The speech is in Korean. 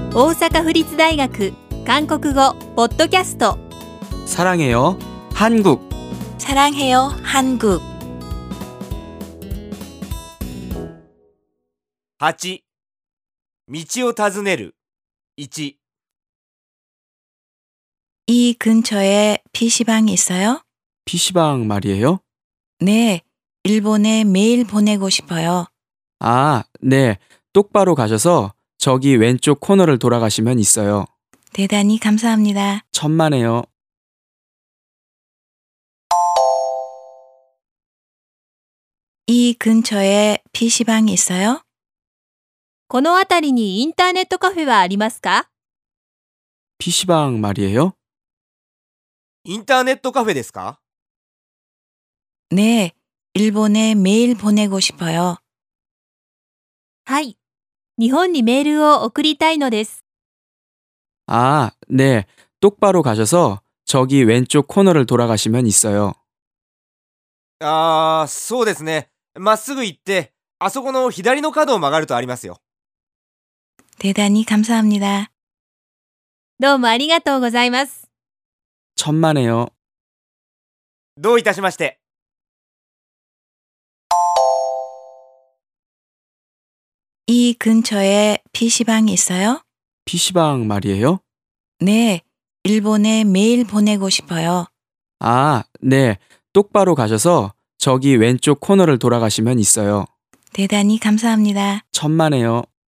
大阪府立大学韓国語ポッドキャスト 사랑해요 한국 사랑해요 한국 8. 道を尋ねる。1. 이 근처에 PC방 있어요? PC방 말이에요? 네, 일본에 메일 보내고 싶어요. 아, 네. 똑바로 가셔서 저기 왼쪽 코너를 돌아가시면 있어요. 대단히 감사합니다. 천만에요. 이 근처에 PC방 있어요? この辺りにインターネットカフェはありますか？ PC방 말이에요? インターネットカフェですか？ 네, 일본에 메일 보내고 싶어요. はい。日本にメールを送りたいのです。 아, 네. 똑바로 가셔서 저기 왼쪽 코너를 돌아가시면 있어요. そうですね。まっすぐ行って、あそこの左の角を曲がるとありますよ。 대단히 감사합니다. どうもありがとうございます。 천만에요. どういたしまして。 이 근처에 PC방 있어요? PC방 말이에요? 네, 일본에 메일 보내고 싶어요. 아, 네. 똑바로 가셔서 저기 왼쪽 코너를 돌아가시면 있어요. 대단히 감사합니다. 천만에요.